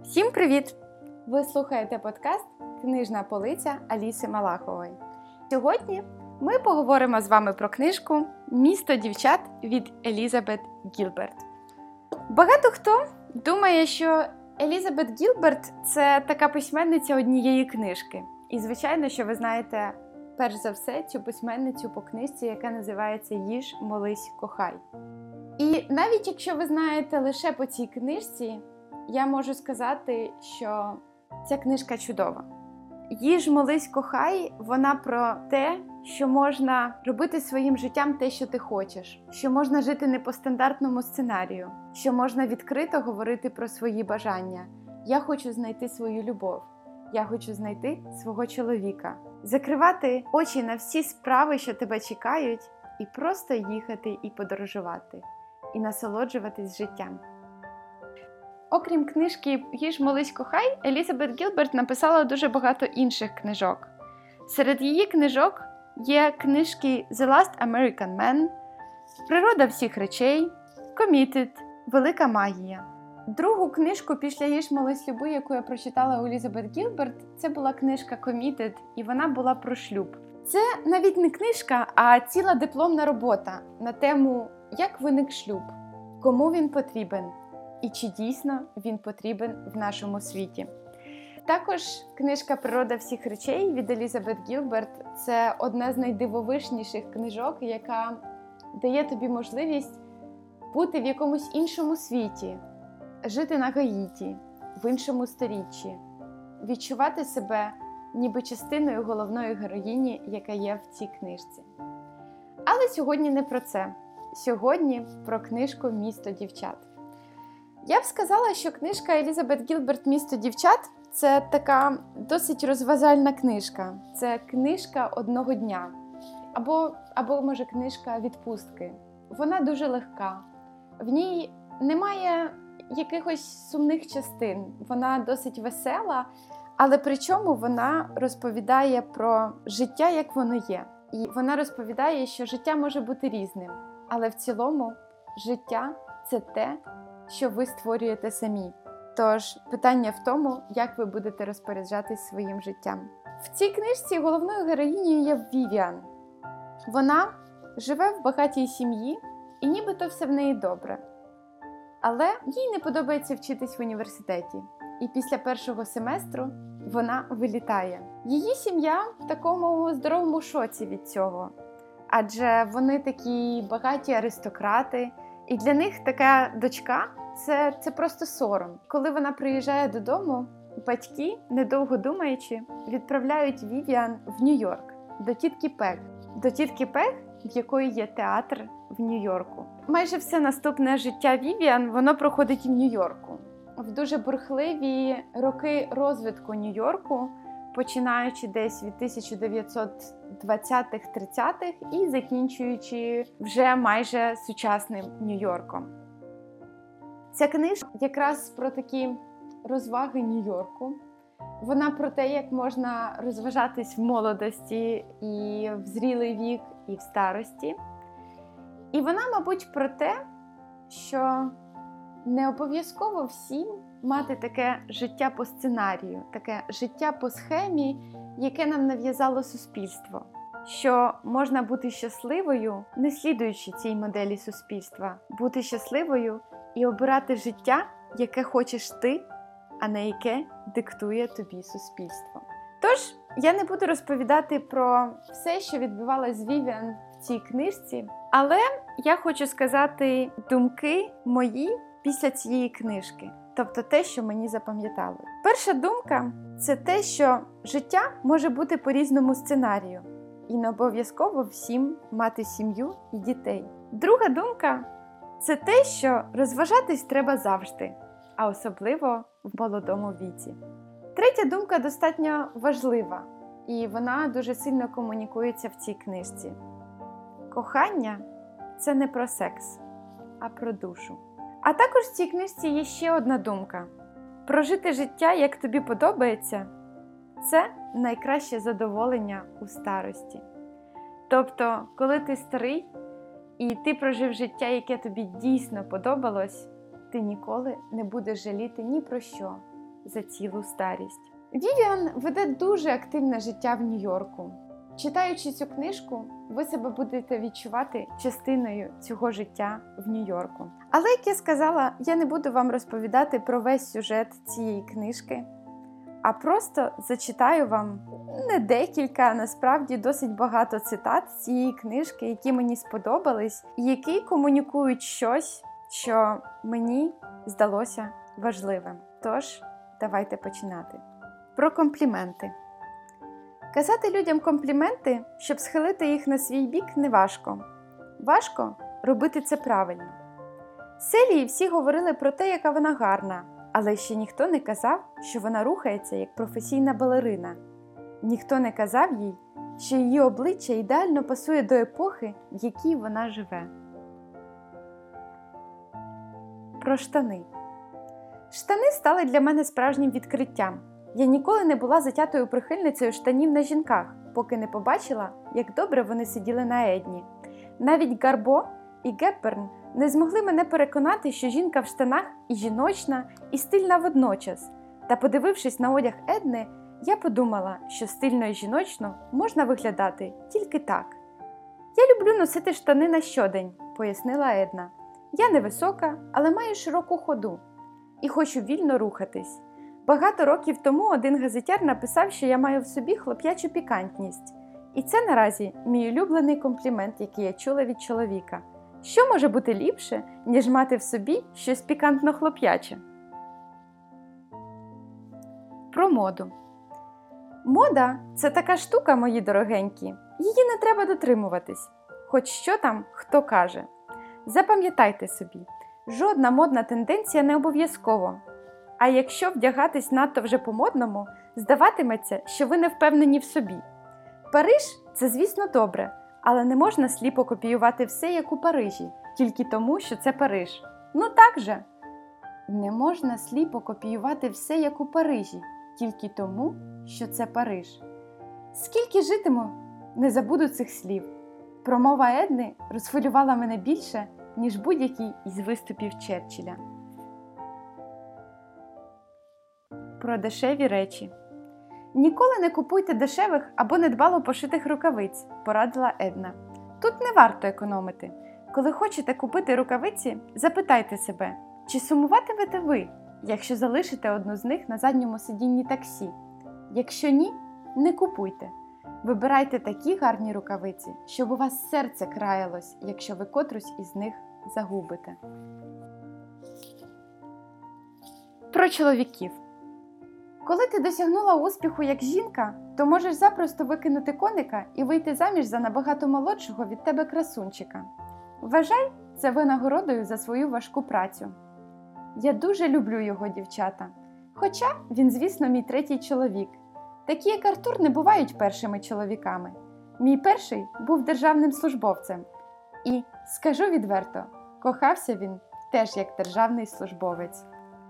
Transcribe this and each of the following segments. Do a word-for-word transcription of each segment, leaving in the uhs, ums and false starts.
Всім привіт! Ви слухаєте подкаст «Книжна полиця» Аліси Малахової. Сьогодні ми поговоримо з вами про книжку «Місто дівчат» від Елізабет Гілберт. Багато хто думає, що Елізабет Гілберт – це така письменниця однієї книжки. І, звичайно, що ви знаєте, перш за все, цю письменницю по книжці, яка називається «Їж, молись, кохай». І навіть якщо ви знаєте лише по цій книжці, я можу сказати, що ця книжка чудова. «Їж, молись, кохай» – вона про те, що можна робити своїм життям те, що ти хочеш, що можна жити не по стандартному сценарію, що можна відкрито говорити про свої бажання. Я хочу знайти свою любов, я хочу знайти свого чоловіка. Закривати очі на всі справи, що тебе чекають, і просто їхати і подорожувати, і насолоджуватись життям. Окрім книжки «Їж, молись, кохай», Елізабет Гілберт написала дуже багато інших книжок. Серед її книжок є книжки «The Last American Man», «Природа всіх речей», «Committed», «Велика магія». Другу книжку після «Їж, молись, люби», яку я прочитала у Елізабет Гілберт, це була книжка «Committed», і вона була про шлюб. Це навіть не книжка, а ціла дипломна робота на тему «Як виник шлюб?», «Кому він потрібен?» і чи дійсно він потрібен в нашому світі. Також книжка «Природа всіх речей» від Елізабет Гілберт – це одна з найдивовижніших книжок, яка дає тобі можливість бути в якомусь іншому світі, жити на Гаїті, в іншому сторіччі, відчувати себе ніби частиною головної героїні, яка є в цій книжці. Але сьогодні не про це. Сьогодні про книжку «Місто дівчат». Я б сказала, що книжка Елізабет Гілберт «Місто дівчат» – це така досить розважальна книжка. Це книжка одного дня. Або, або може, книжка відпустки. Вона дуже легка. В ній немає якихось сумних частин. Вона досить весела, але при чому вона розповідає про життя, як воно є. І вона розповідає, що життя може бути різним. Але в цілому життя – це те, що ви створюєте самі. Тож, питання в тому, як ви будете розпоряджатись своїм життям. В цій книжці головною героїнею є Вівіан. Вона живе в багатій сім'ї, і нібито все в неї добре. Але їй не подобається вчитись в університеті. І після першого семестру вона вилітає. Її сім'я в такому здоровому шоці від цього. Адже вони такі багаті аристократи, і для них така дочка це, – це просто сором. Коли вона приїжджає додому, батьки, недовго думаючи, відправляють Вівіан в Нью-Йорк, до тітки Пег. До тітки Пег, в якої є театр в Нью-Йорку. Майже все наступне життя Вівіан, воно проходить в Нью-Йорку. В дуже бурхливі роки розвитку Нью-Йорку, починаючи десь від тисяча дев'ятсот двадцятих-тридцятих і закінчуючи вже майже сучасним Нью-Йорком. Ця книжка якраз про такі розваги Нью-Йорку. Вона про те, як можна розважатись в молодості і в зрілий вік, і в старості. І вона, мабуть, про те, що не обов'язково всім мати таке життя по сценарію, таке життя по схемі, яке нам нав'язало суспільство. Що можна бути щасливою, не слідуючи цій моделі суспільства, бути щасливою і обирати життя, яке хочеш ти, а не яке диктує тобі суспільство. Тож, я не буду розповідати про все, що відбувалося з Вівіан в цій книжці, але я хочу сказати думки мої після цієї книжки, тобто те, що мені запам'ятало. Перша думка – це те, що життя може бути по різному сценарію, і не обов'язково всім мати сім'ю і дітей. Друга думка – це те, що розважатись треба завжди, а особливо в молодому віці. Третя думка достатньо важлива, і вона дуже сильно комунікується в цій книжці. Кохання – це не про секс, а про душу. А також в цій книжці є ще одна думка. Прожити життя, як тобі подобається – це найкраще задоволення у старості. Тобто, коли ти старий і ти прожив життя, яке тобі дійсно подобалось, ти ніколи не будеш жаліти ні про що. за цілу старість. Вівіан веде дуже активне життя в Нью-Йорку. Читаючи цю книжку, ви себе будете відчувати частиною цього життя в Нью-Йорку. Але, як я сказала, я не буду вам розповідати про весь сюжет цієї книжки, а просто зачитаю вам не декілька, а насправді досить багато цитат з цієї книжки, які мені сподобались, і які комунікують щось, що мені здалося важливим. Тож, давайте починати. Про компліменти. Казати людям компліменти, щоб схилити їх на свій бік, не важко. Важко робити це правильно. Селії всі говорили про те, яка вона гарна, але ще ніхто не казав, що вона рухається як професійна балерина. Ніхто не казав їй, що її обличчя ідеально пасує до епохи, в якій вона живе. Про штани. Штани стали для мене справжнім відкриттям. Я ніколи не була затятою прихильницею штанів на жінках, поки не побачила, як добре вони сиділи на Едні. Навіть Гарбо і Гепберн не змогли мене переконати, що жінка в штанах і жіночна, і стильна водночас. Та подивившись на одяг Едни, я подумала, що стильно і жіночно можна виглядати тільки так. «Я люблю носити штани на щодень», – пояснила Една. «Я невисока, але маю широку ходу і хочу вільно рухатись. Багато років тому один газетяр написав, що я маю в собі хлоп'ячу пікантність. І це наразі мій улюблений комплімент, який я чула від чоловіка. Що може бути ліпше, ніж мати в собі щось пікантно-хлоп'яче?» Про моду. Мода – це така штука, мої дорогенькі. Її не треба дотримуватись. Хоч що там, хто каже. Запам'ятайте собі, жодна модна тенденція не обов'язково. А якщо вдягатись надто вже по-модному, здаватиметься, що ви не впевнені в собі. Париж – це, звісно, добре, але не можна сліпо копіювати все, як у Парижі, тільки тому, що це Париж. Ну так же! Не можна сліпо копіювати все, як у Парижі, тільки тому, що це Париж. Скільки житиму, не забуду цих слів. Промова Едни розхвилювала мене більше, ніж будь-який із виступів Черчилля. Про дешеві речі. «Ніколи не купуйте дешевих або недбало пошитих рукавиць», – порадила Една. «Тут не варто економити. Коли хочете купити рукавиці, запитайте себе, чи сумуватимете ви, якщо залишите одну з них на задньому сидінні таксі? Якщо ні, не купуйте. Вибирайте такі гарні рукавиці, щоб у вас серце краялось, якщо ви котрусь із них загубите». Про чоловіків. Коли ти досягнула успіху як жінка, то можеш запросто викинути коника і вийти заміж за набагато молодшого від тебе красунчика. Вважай це винагородою за свою важку працю. Я дуже люблю його, дівчата. Хоча він, звісно, мій третій чоловік. Такі, як Артур, не бувають першими чоловіками. Мій перший був державним службовцем. І, скажу відверто, кохався він теж як державний службовець.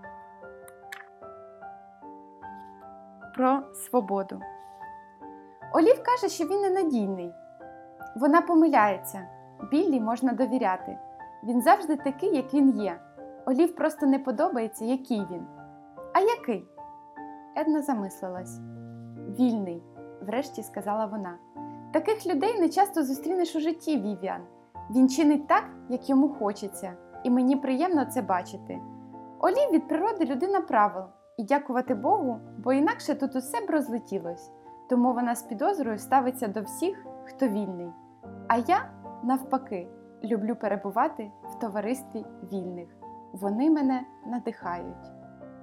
Про свободу. Олів каже, що він ненадійний. Вона помиляється. Біллі можна довіряти. Він завжди такий, як він є. Олів просто не подобається, який він. А який? Една замислилась. Вільний, врешті сказала вона. Таких людей не часто зустрінеш у житті, Вівіан. Він чинить так, як йому хочеться. І мені приємно це бачити. Олів від природи людина правил. І дякувати Богу, бо інакше тут усе б розлетілось. Тому вона з підозрою ставиться до всіх, хто вільний. А я, навпаки, люблю перебувати в товаристві вільних. Вони мене надихають.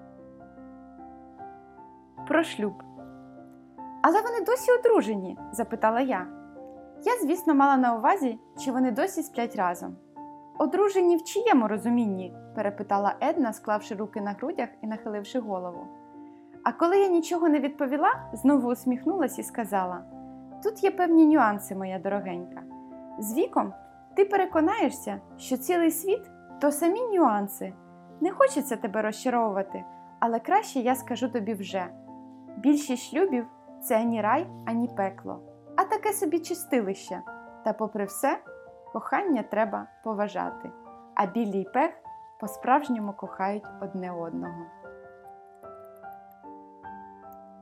Про шлюб. «Але вони досі одружені?» – запитала я. Я, звісно, мала на увазі, чи вони досі сплять разом. «Одружені в чиєму розумінні?» – перепитала Една, склавши руки на грудях і нахиливши голову. А коли я нічого не відповіла, знову усміхнулась і сказала: «Тут є певні нюанси, моя дорогенька. З віком ти переконаєшся, що цілий світ – то самі нюанси. Не хочеться тебе розчаровувати, але краще я скажу тобі вже. Більшість шлюбів – це ані рай, ані пекло, а таке собі чистилище. Та попри все, кохання треба поважати, а Біллі й Пег по-справжньому кохають одне одного».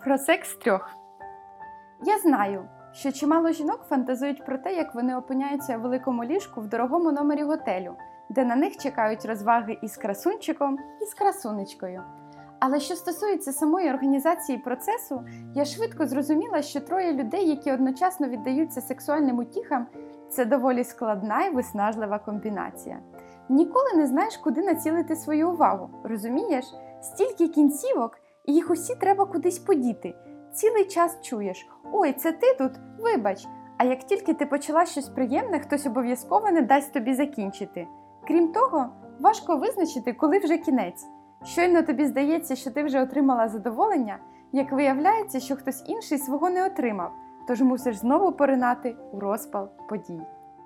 Про секс трьох. Я знаю, що чимало жінок фантазують про те, як вони опиняються у великому ліжку в дорогому номері готелю, де на них чекають розваги із красунчиком, і з красунечкою. Але що стосується самої організації процесу, я швидко зрозуміла, що троє людей, які одночасно віддаються сексуальним утіхам, це доволі складна і виснажлива комбінація. Ніколи не знаєш, куди націлити свою увагу, розумієш? Стільки кінцівок, і їх усі треба кудись подіти. Цілий час чуєш: «Ой, це ти тут? Вибач!» А як тільки ти почала щось приємне, хтось обов'язково не дасть тобі закінчити. Крім того, важко визначити, коли вже кінець. Щойно тобі здається, що ти вже отримала задоволення, як виявляється, що хтось інший свого не отримав, тож мусиш знову поринати у розпал подій.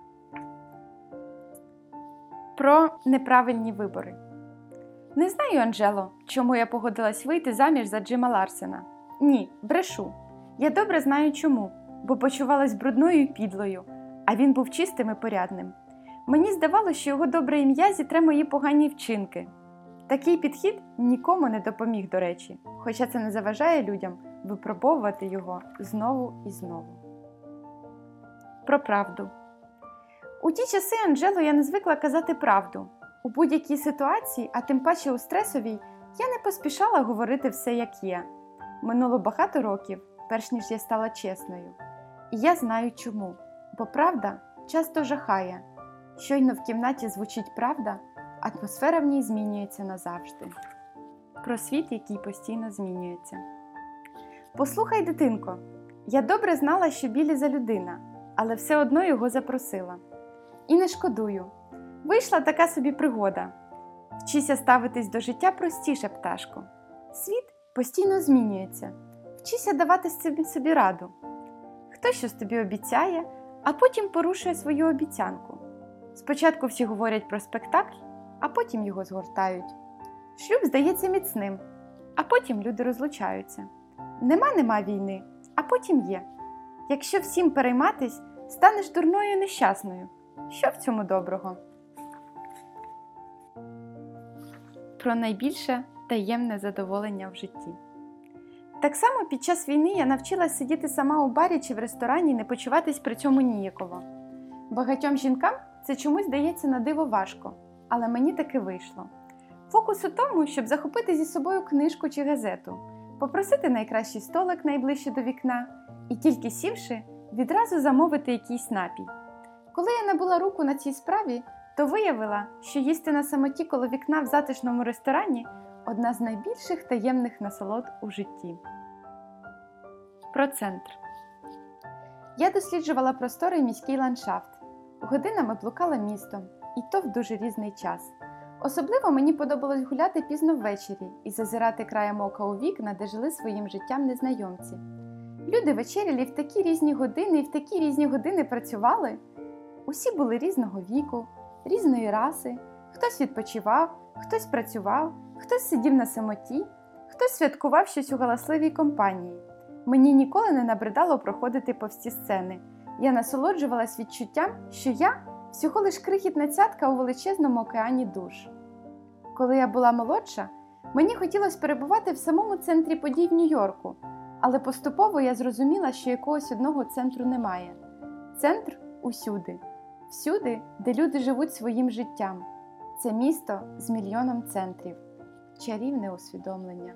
Про неправильні вибори. Не знаю, Анджело, чому я погодилась вийти заміж за Джима Ларсена. Ні, брешу. Я добре знаю чому, бо почувалась брудною і підлою, а він був чистим і порядним. Мені здавалося, що його добре ім'я зітре мої погані вчинки. Такий підхід нікому не допоміг, до речі, хоча це не заважає людям випробовувати його знову і знову. Про правду. У ті часи, Анджело, я не звикла казати правду. У будь-якій ситуації, а тим паче у стресовій, я не поспішала говорити все як є. Минуло багато років, перш ніж я стала чесною. І я знаю чому. Бо правда часто жахає. Щойно в кімнаті звучить правда, атмосфера в ній змінюється назавжди. Про світ, який постійно змінюється. Послухай, дитинко, я добре знала, що Біллі за людина, але все одно його запросила. І не шкодую. Вийшла така собі пригода. Вчися ставитись до життя простіше, пташко. Світ постійно змінюється. Вчися давати собі, собі раду. Хтось щось тобі обіцяє, а потім порушує свою обіцянку. Спочатку всі говорять про спектакль, а потім його згортають. Шлюб здається міцним, а потім люди розлучаються. Нема-нема війни, а потім є. Якщо всім перейматись, станеш дурною і нещасною. Що в цьому доброго? Про найбільше таємне задоволення в житті. Так само під час війни я навчилась сидіти сама у барі чи в ресторані і не почуватись при цьому ніяково. Багатьом жінкам це чомусь дається на диво важко, але мені таки вийшло. Фокус у тому, щоб захопити зі собою книжку чи газету, попросити найкращий столик найближче до вікна і тільки сівши, відразу замовити якийсь напій. Коли я набула руку на цій справі, то виявила, що їсти на самоті коло вікна в затишному ресторані – одна з найбільших таємних насолод у житті. Про центр. Я досліджувала просторий міський ландшафт. Годинами блукала містом, і то в дуже різний час. Особливо мені подобалось гуляти пізно ввечері і зазирати краєм ока у вікна, де жили своїм життям незнайомці. Люди вечеряли в такі різні години і в такі різні години працювали. Усі були різного віку, різної раси, хтось відпочивав, хтось працював, хтось сидів на самоті, хтось святкував щось у галасливій компанії. Мені ніколи не набридало проходити повз ці сцени. Я насолоджувалась відчуттям, що я всього лиш крихітна цятка у величезному океані душ. Коли я була молодша, мені хотілося перебувати в самому центрі подій в Нью-Йорку, але поступово я зрозуміла, що якогось одного центру немає. Центр усюди. Всюди, де люди живуть своїм життям. Це місто з мільйоном центрів. Чарівне усвідомлення.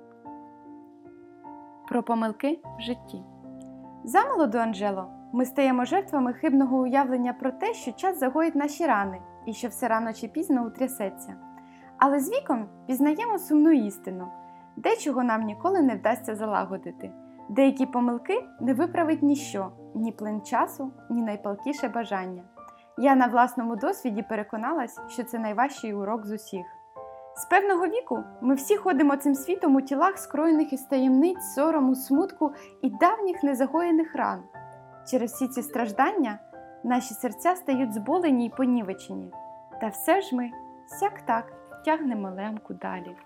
Про помилки в житті. Замолоду, Анджело, ми стаємо жертвами хибного уявлення про те, що час загоїть наші рани і що все рано чи пізно утрясеться. Але з віком пізнаємо сумну істину. Дечого нам ніколи не вдасться залагодити. Деякі помилки не виправить ніщо, ні плин часу, ні найпалкіше бажання. Я на власному досвіді переконалась, що це найважчий урок з усіх. З певного віку ми всі ходимо цим світом у тілах, скроєних із таємниць, сорому, смутку і давніх незагоєних ран. Через всі ці страждання наші серця стають зболені й понівечені. Та все ж ми, сяк-так, тягнемо лемку далі.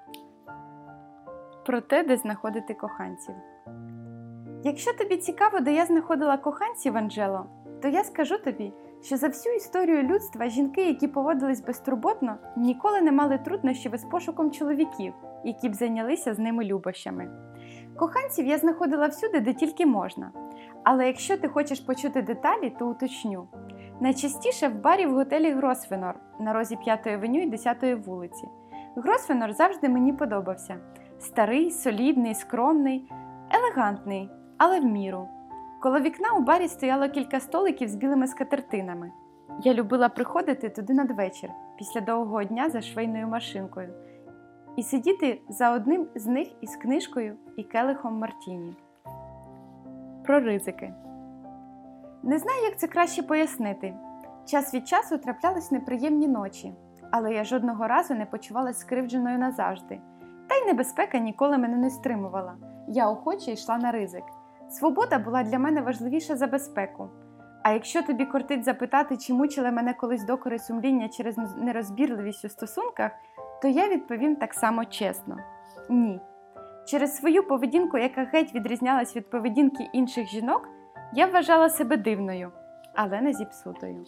Про те, де знаходити коханців. Якщо тобі цікаво, де я знаходила коханців, Анджело, то я скажу тобі, що за всю історію людства жінки, які поводились безтурботно, ніколи не мали труднощів із пошуком чоловіків, які б зайнялися з ними любощами. Коханців я знаходила всюди, де тільки можна. Але якщо ти хочеш почути деталі, то уточню. Найчастіше в барі в готелі Гросвенор на розі п'ятої авеню і десятої вулиці. Гросвенор завжди мені подобався. Старий, солідний, скромний, елегантний, але в міру. Коло вікна у барі стояло кілька столиків з білими скатертинами. Я любила приходити туди надвечір, після довгого дня за швейною машинкою, і сидіти за одним з них із книжкою і келихом мартіні. Про ризики. Не знаю, як це краще пояснити. Час від часу траплялись неприємні ночі, але я жодного разу не почувалась скривдженою назавжди. Та й небезпека ніколи мене не стримувала. Я охоче йшла на ризик. Свобода була для мене важливіша за безпеку. А якщо тобі кортить запитати, чи мучили мене колись докори сумління через нерозбірливість у стосунках, то я відповім так само чесно. Ні. Через свою поведінку, яка геть відрізнялась від поведінки інших жінок, я вважала себе дивною, але не зіпсутою.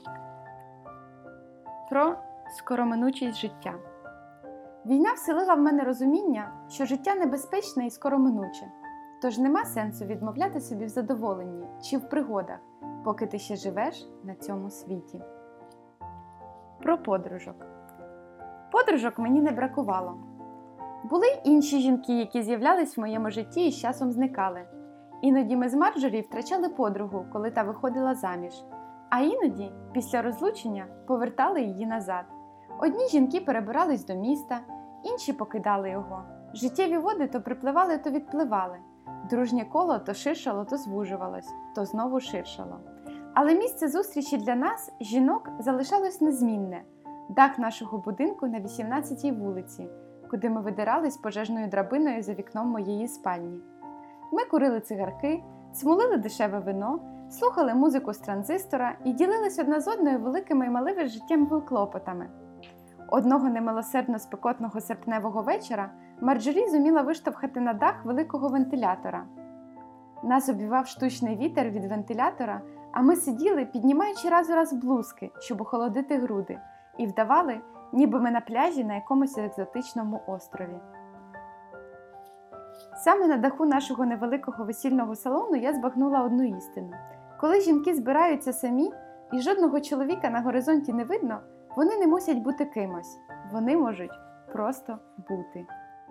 Про скороминучість життя. Війна вселила в мене розуміння, що життя небезпечне і скороминуче, тож нема сенсу відмовляти собі в задоволенні чи в пригодах, поки ти ще живеш на цьому світі. Про подружок. Подружок мені не бракувало. Були й інші жінки, які з'являлись в моєму житті і з часом зникали. Іноді ми з Марджорі втрачали подругу, коли та виходила заміж, а іноді, після розлучення, повертали її назад. Одні жінки перебирались до міста, інші покидали його. Життєві води то припливали, то відпливали. Дружнє коло то ширшало, то звужувалось, то знову ширшало. Але місце зустрічі для нас, жінок, залишалось незмінне – дах нашого будинку на вісімнадцятій вулиці, куди ми видирались пожежною драбиною за вікном моєї спальні. Ми курили цигарки, смолили дешеве вино, слухали музику з транзистора і ділились одна з одною великими і малими життєвими клопотами. Одного немилосердно спекотного серпневого вечора Марджорі зуміла виштовхати на дах великого вентилятора. Нас обвівав штучний вітер від вентилятора, а ми сиділи, піднімаючи раз у раз блузки, щоб охолодити груди, і вдавали, ніби ми на пляжі на якомусь екзотичному острові. Саме на даху нашого невеликого весільного салону я збагнула одну істину. Коли жінки збираються самі і жодного чоловіка на горизонті не видно, вони не мусять бути кимось. Вони можуть просто бути.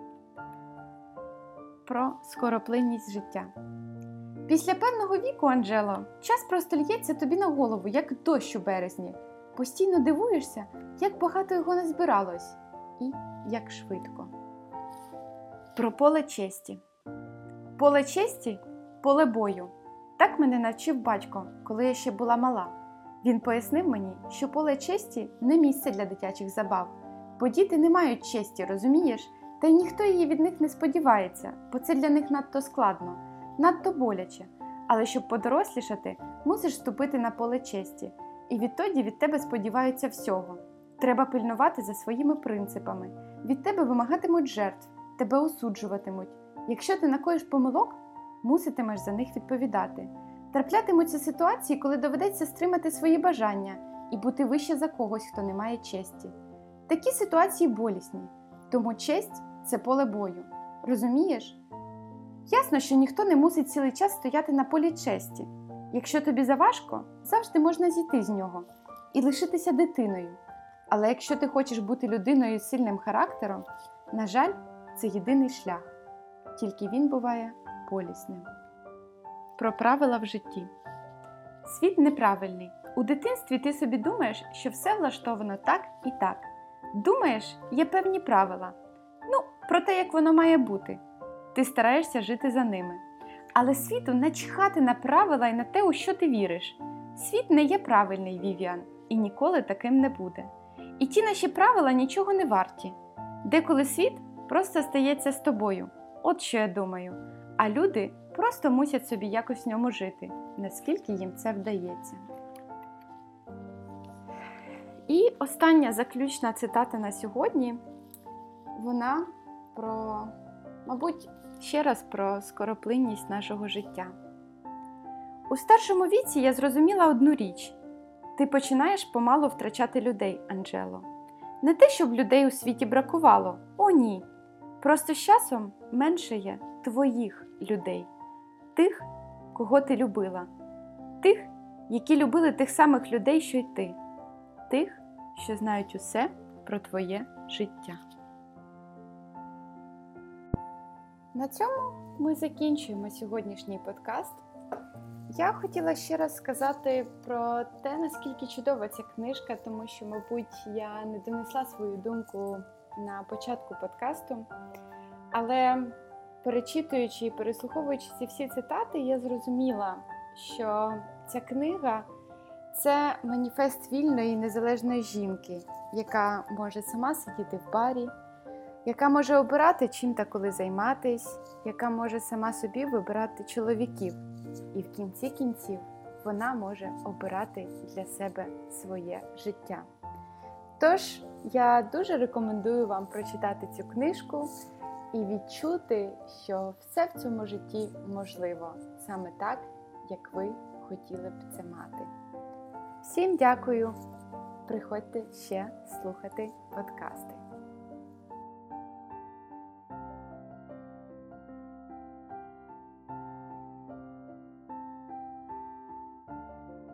Про скороплинність життя. Після певного віку, Анджело, час просто лється тобі на голову, як дощ у березні. Постійно дивуєшся, як багато його назбиралось і як швидко. Про поле честі. Поле честі – поле бою. Так мене навчив батько, коли я ще була мала. Він пояснив мені, що поле честі – не місце для дитячих забав. Бо діти не мають честі, розумієш? Та й ніхто її від них не сподівається, бо це для них надто складно, надто боляче. Але щоб подорослішати, мусиш вступити на поле честі. І відтоді від тебе сподіваються всього. Треба пильнувати за своїми принципами. Від тебе вимагатимуть жертв, тебе осуджуватимуть. Якщо ти накоїш помилок, муситимеш за них відповідати. Траплятимуться ситуації, коли доведеться стримати свої бажання і бути вище за когось, хто не має честі. Такі ситуації болісні, тому честь – це поле бою. Розумієш? Ясно, що ніхто не мусить цілий час стояти на полі честі. Якщо тобі заважко, завжди можна зійти з нього і лишитися дитиною. Але якщо ти хочеш бути людиною з сильним характером, на жаль, це єдиний шлях. Тільки він буває болісним. Про правила в житті. Світ неправильний. У дитинстві ти собі думаєш, що все влаштовано так і так. Думаєш, є певні правила. Ну, про те, як воно має бути. Ти стараєшся жити за ними. Але світу начхати на правила і на те, у що ти віриш. Світ не є правильний, Вівіан, і ніколи таким не буде. І ті наші правила нічого не варті. Деколи світ просто стається з тобою. От що я думаю. А люди просто мусять собі якось в ньому жити, наскільки їм це вдається. І остання заключна цитата на сьогодні, вона про, мабуть, ще раз про скороплинність нашого життя. У старшому віці я зрозуміла одну річ. Ти починаєш помалу втрачати людей, Анджело. Не те, щоб людей у світі бракувало, о ні. Просто з часом менше є твоїх людей, тих, кого ти любила, тих, які любили тих самих людей, що й ти, тих, що знають усе про твоє життя. На цьому ми закінчуємо сьогоднішній подкаст. Я хотіла ще раз сказати про те, наскільки чудова ця книжка, тому що, мабуть, я не донесла свою думку на початку подкасту, але перечитуючи і переслуховуючи ці всі цитати, я зрозуміла, що ця книга – це маніфест вільної і незалежної жінки, яка може сама сидіти в барі, яка може обирати, чим та коли займатись, яка може сама собі вибирати чоловіків. І в кінці кінців вона може обирати для себе своє життя. Тож, я дуже рекомендую вам прочитати цю книжку і відчути, що все в цьому житті можливо, саме так, як ви хотіли б це мати. Всім дякую! Приходьте ще слухати подкасти.